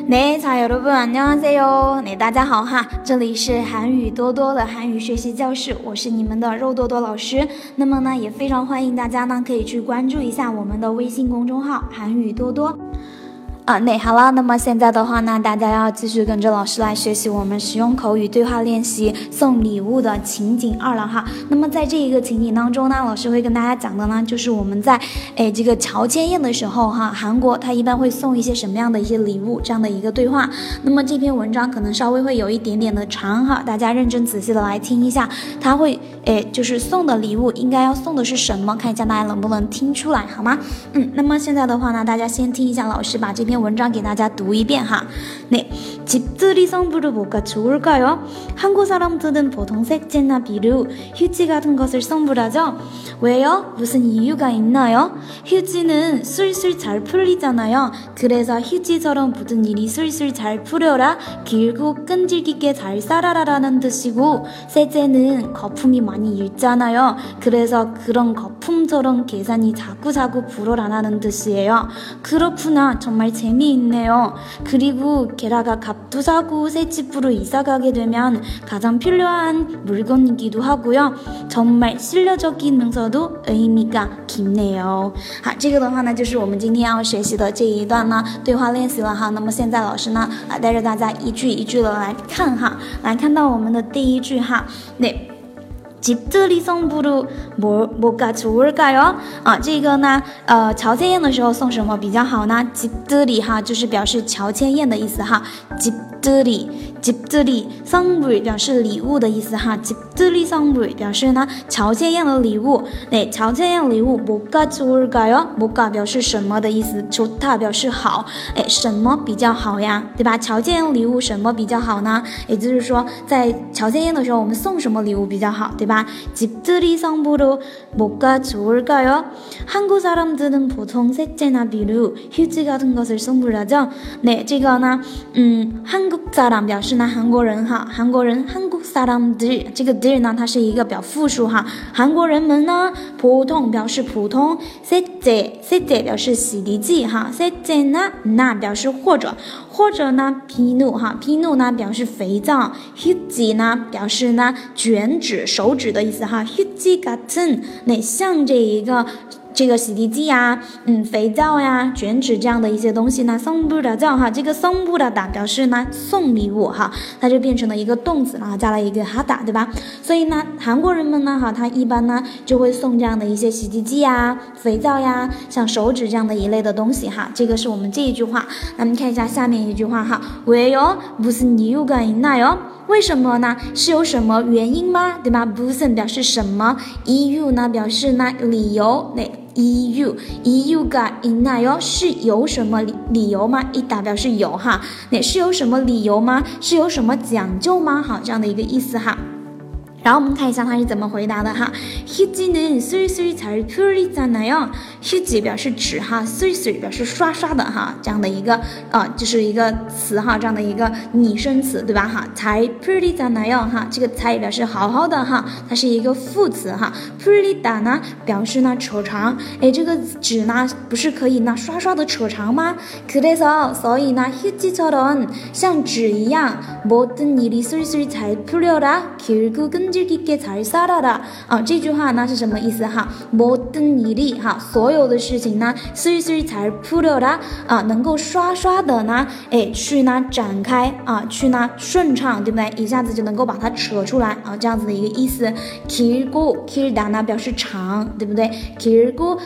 네， 자 여러분 안녕하세요。大家好哈，这里是韩语多多的韩语学习教室，我是你们的肉多多老师。那么呢，也非常欢迎大家呢可以去关注一下我们的微信公众号韩语多多。好了，那么现在的话呢，大家要继续跟着老师来学习我们实用口语对话练习送礼物的情景2了哈。那么在这一个情景当中呢，老师会跟大家讲的呢，就是我们在这个乔迁宴的时候哈，韩国它一般会送一些什么样的一些礼物，这样的一个对话。那么这篇文章可能稍微会有一点点的长哈，大家认真仔细的来听一下，它会就是送的礼物应该要送的是什么，看一下大家能不能听出来好吗？那么现在的话呢，大家先听一下老师把这篇文章给大家读一遍哈。집들이 선물은 뭐가 좋을까요? 한국 사람들은 보통 색제나 비누, 휴지 같은 것을 선물하죠. 왜요? 무슨 이유가 있나요? 휴지는 술술 잘 풀리잖아요. 그래서 휴지처럼 모든 일이 술술 잘 풀려라, 길고 끈질기게 잘 살아라라는 뜻이고, 세제는 거품이 많이 일잖아요. 그래서 그런 거품처럼 계산이 자꾸자꾸 불어나라는 뜻이에요. 그렇구나, 정말 재미있네요. 그리고 게다가 값도 사고 새 집으로 이사가게 되면 가장 필요한 물건이기도 하고요. 정말 실려적이면서도 의미가 깊네요. 好，这个的话呢，就是我们今天要学习的这一段呢对话练习了哈。那么现在老师呢带着大家一句一句的来看哈，来看到我们的第一句哈。집들이 선물은 뭐가 좋을까요? 这个呢乔迁宴的时候送什么比较好呢？ 집들이 哈就是表示乔迁宴的意思哈。집들이 선물表示礼物的意思哈。집들이 선물表示呢乔迁宴的礼物。乔迁宴礼物 뭐가 좋을까요? 뭐가表示什么的意思， 좋다表示好。什么比较好呀，对吧？乔迁宴礼物什么比较好呢？也就是说在乔迁宴的时候我们送什么礼物比较好，对吧？ 집들이 선물은 뭐가 좋을까요? 한국 사람들은 보통 색제나 비누, 휴지 같은 것을 선물하죠. 这个呢한국 사람表示呢韩国人哈，韩国人한국 사람들这个들呢它是一个表复数哈，韩国人们呢보통表示普通，세제表示洗涤剂哈，세제나 나表示或者呢비누哈，비누呢表示肥皂，휴지呢表示呢卷纸手指的意思哈，휴지 같은像这个洗涤剂呀，肥皂呀，卷纸这样的一些东西呢，선물하죠哈，这个선물하다表示呢送礼物哈，它就变成了一个动词了，加了一个하다，对吧？所以呢，韩国人们呢哈，他一般呢就会送这样的一些洗涤剂呀、肥皂呀，像手指这样的一类的东西哈。这个是我们这一句话。那么看一下下面一句话哈，왜요? 무슨 이유가 있나요? 为什么呢？是有什么原因吗？对吧？ 무슨 表示什么， 이유 呢表示呢理由。이유가 있나요? 是有什么理由吗？ 있다 表示有哈。是有什么理由吗？是有什么讲究吗？好，这样的一个意思哈。然后我们看一下他是怎么回答的哈。휴지는 술술 잘 풀리잖아요. 휴지表示纸哈，술술表示刷刷的哈，这样的一个就是一个词哈，这样的一个拟声词，对吧哈？잘 풀리잖아요哈，这个잘表示好好的哈，它是一个副词哈。풀리다呢表示呢扯长，这个纸呢不是可以呢刷刷的扯长吗？그래서所以呢휴지처럼像纸一样，모든 일이 술술 잘 풀려라, 길고 끈질기게 잘 살아라。这句话呢是什么意思哈？모든 일이哈，所有的事情呢술술 잘 풀려라能够刷刷的呢去呢展开去呢顺畅，对不对？一下子就能够把它扯出来这样子的一个意思。길고 길다呢表示长，对不对？길고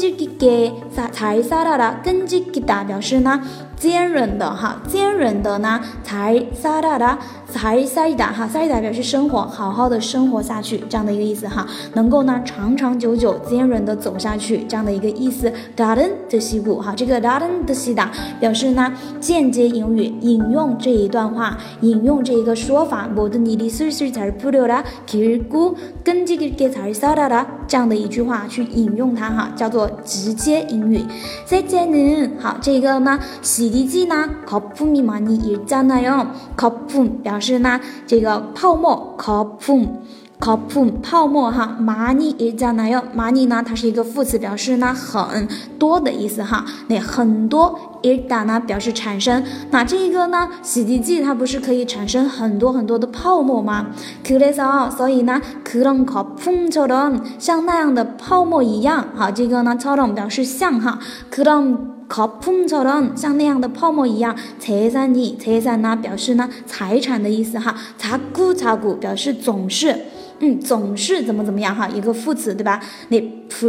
끈질기게 잘 살아라， 끈질기다表示呢坚韧的哈，坚韧的呢잘 살아라， 잘 살다哈，살다表示生活，好好的生活下去这样的一个意思哈，能够呢长长久久坚韧的走下去这样的一个意思。다른 뜻이고哈，这个다른 뜻이다表示呢间接引语，引用这一段话，引用这一个说法，모든 일이 술술 잘 풀려라, 길고 끈질기게 잘 살아라这样的一句话去引用它哈，叫做直接引语。세제는好，这个呢洗洗涤剂呢，거품이 많이 일잖아요。 거품表示呢这个泡沫，거품。 거품泡沫哈，많이 있잖아요。많이呢，它是一个副词，表示呢很多的意思哈。那很多일단呢表示产生。那这个呢，洗涤剂它不是可以产生很多很多的泡沫吗？그래서所以呢，그런 거품처럼像那样的泡沫一样，好，这个呢처럼表示像哈，그런 거품처럼像那样的泡沫一样，재산呢表示呢财产的意思哈，자꾸表示总是。总是怎么样哈，一个副词对吧？那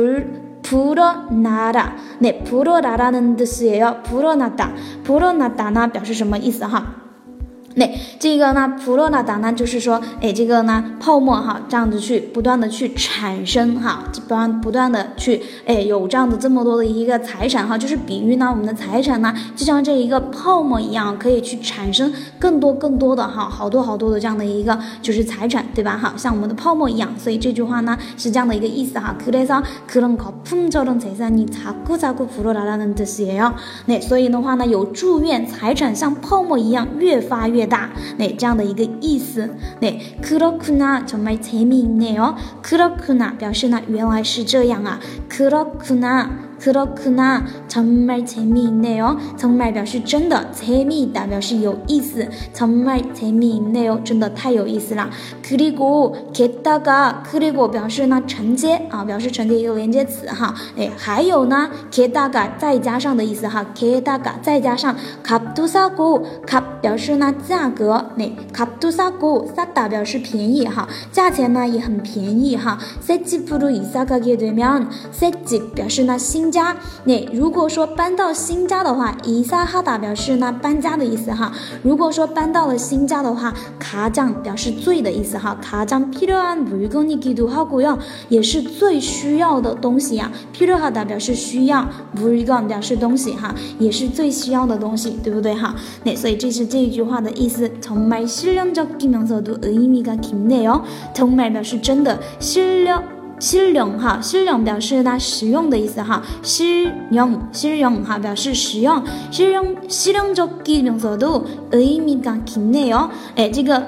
불어나다，那불어나다는 뜻이에요。불어나다呢表示什么意思哈？那这个呢불어나다呢就是说，这个呢泡沫哈，这样子去不断的去产生哈，不断的去有这样的这么多的一个财产哈，就是比喻呢我们的财产呢就像这一个泡沫一样，可以去产生更多的哈，好多的这样的一个就是财产对吧哈，像我们的泡沫一样，所以这句话呢是这样的一个意思哈。그래서 그런 거품처럼 재산이 자꾸 불어나라는 뜻이에요。那所以的话呢，有祝愿财产像泡沫一样越发越大，那这样的一个意思。那그렇구나 정말 재미있네요。그렇구나表示呢原来是这样啊。그렇구나 정말 재미있네요。정말表示真的，재미있다表示有意思，정말 재미있네요真的太有意思了。그리고 게다가 그리고表示呢承接啊，表示承接一个连接词哈。还有呢게다가再加上的意思哈。게다가再加上값도 싸고 값表示呢价格，값도 싸고 싸다表示便宜哈，价钱呢也很便宜哈。새집으로 이사 가게 되면 새집表示呢新家，那如果说搬到新家的话，이사하다表示呢搬家的意思哈。如果说搬到了新家的话，가장表示最的意思哈。가장 필요한 물건이기도 하고요，也是最需要的东西呀。필요하다表示需要，물건表示东西哈，也是最需要的东西，对不对哈？那所以这是这一句话的意思。정말 실용적이면서도 의미가 깊네요。정말表示真的，실용哈，실용表示呢实用的意思哈，실용哈表示实用，실용적이면서도 의미가 깊네요。这个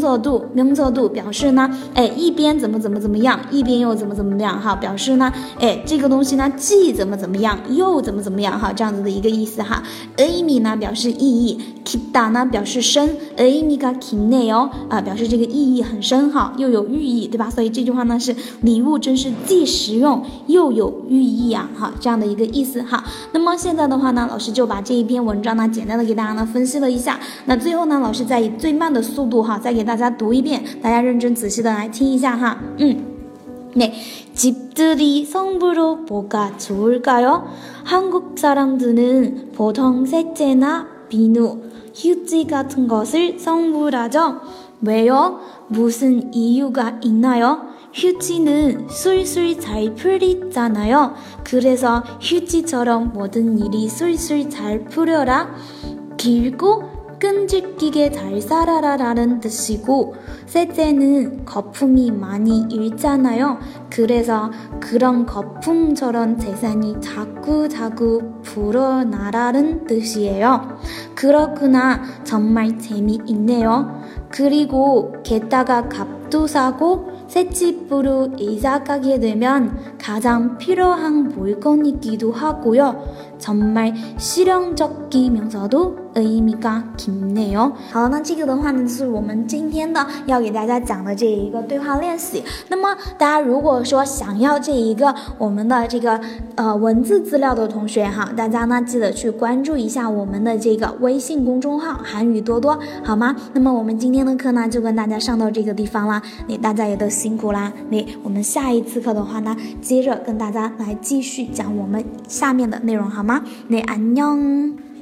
명서도表示呢，一边怎么样，一边又怎么样哈，表示呢，这个东西呢既怎么样，又怎么样哈，这样子的一个意思哈。의미呢表示意义，깊다呢表示深，의미가 깊네요啊表示这个意义很深哈，又有寓意对吧？所以这句话呢是礼物真是既实用又有寓意啊哈，这样的一个意思哈。那么现在的话呢，老师就把这一篇文章呢简单的给大家呢分析了一下。那最后呢，老师再以最慢的速度哈再给大家读一遍，大家认真仔细的来听一下哈。네, 집들이 성부로 뭐가 좋을까요? 한국 사람들은 보통 셋째나 비누, 휴지 같은 것을 선물하죠. 왜요? 무슨 이유가 있나요? 휴지는 술술 잘 풀리잖아요. 그래서 휴지처럼 모든 일이 술술 잘 풀려라. 길고 끈질기게 잘 살아라라는 뜻이고, 셋째는 거품이 많이 일잖아요. 그래서 그런 거품처럼 재산이 자꾸 불어나라는 뜻이에요. 그렇구나 정말 재미있네요. 그리고 게다가 값도 사고 새집으로 이사 가게 되면 가장 필요한 물건이기도 하고요. 정말 실용적이면서도 의미가 깊네요. 好，那这个的话呢，就是我们今天的要给大家讲的这一个对话练习。那么大家如果说想要这一个我们的这个文字资料的同学哈，大家呢记得去关注一下我们的这个微信公众号韩语多多，好吗？那么我们今天的课呢就跟大家上到这个地方啦，大家也都辛苦啦。我们下一次课的话呢，接着跟大家来继续讲我们下面的内容，好吗？안녕。